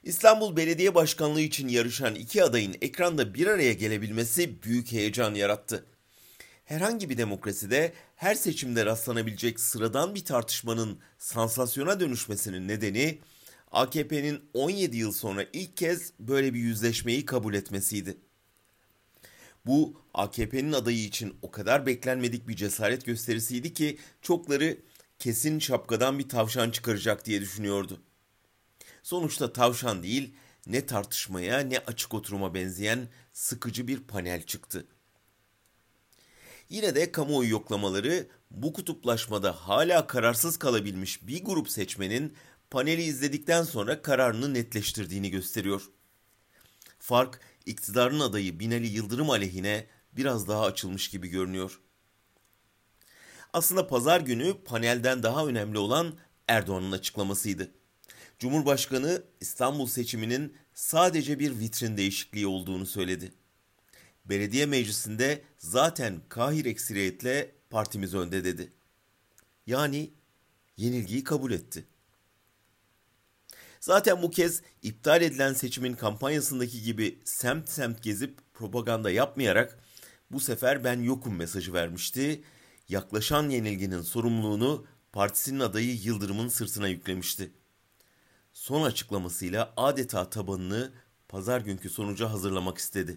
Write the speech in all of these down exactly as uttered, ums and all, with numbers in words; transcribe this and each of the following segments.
İstanbul Belediye Başkanlığı için yarışan iki adayın ekranda bir araya gelebilmesi büyük heyecan yarattı. Herhangi bir demokraside her seçimde rastlanabilecek sıradan bir tartışmanın sansasyona dönüşmesinin nedeni A K P'nin on yedi yıl sonra ilk kez böyle bir yüzleşmeyi kabul etmesiydi. Bu A K P'nin adayı için o kadar beklenmedik bir cesaret gösterisiydi ki çokları kesin şapkadan bir tavşan çıkaracak diye düşünüyordu. Sonuçta tavşan değil, ne tartışmaya ne açık oturuma benzeyen sıkıcı bir panel çıktı. Yine de kamuoyu yoklamaları bu kutuplaşmada hala kararsız kalabilmiş bir grup seçmenin paneli izledikten sonra kararını netleştirdiğini gösteriyor. Fark iktidarın adayı Binali Yıldırım aleyhine biraz daha açılmış gibi görünüyor. Aslında pazar günü panelden daha önemli olan Erdoğan'ın açıklamasıydı. Cumhurbaşkanı İstanbul seçiminin sadece bir vitrin değişikliği olduğunu söyledi. Belediye meclisinde zaten kahir ekseriyetle partimiz önde dedi. Yani yenilgiyi kabul etti. Zaten bu kez iptal edilen seçimin kampanyasındaki gibi semt semt gezip propaganda yapmayarak bu sefer ben yokum mesajı vermişti. Yaklaşan yenilginin sorumluluğunu partisinin adayı Yıldırım'ın sırtına yüklemişti. Son açıklamasıyla adeta tabanını pazar günkü sonuca hazırlamak istedi.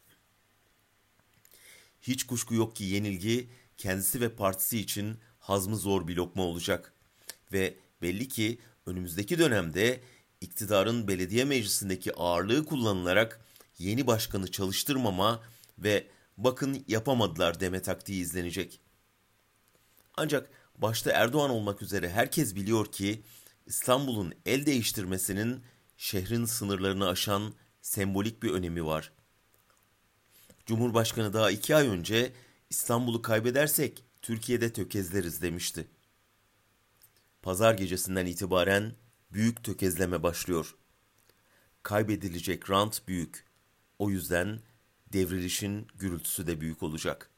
Hiç kuşku yok ki yenilgi kendisi ve partisi için hazmı zor bir lokma olacak. Ve belli ki önümüzdeki dönemde iktidarın belediye meclisindeki ağırlığı kullanılarak yeni başkanı çalıştırmama ve bakın yapamadılar deme taktiği izlenecek. Ancak başta Erdoğan olmak üzere herkes biliyor ki İstanbul'un el değiştirmesinin şehrin sınırlarını aşan sembolik bir önemi var. Cumhurbaşkanı daha iki ay önce İstanbul'u kaybedersek Türkiye'de tökezleriz demişti. Pazar gecesinden itibaren büyük tökezleme başlıyor. Kaybedilecek rant büyük. O yüzden devrilişin gürültüsü de büyük olacak.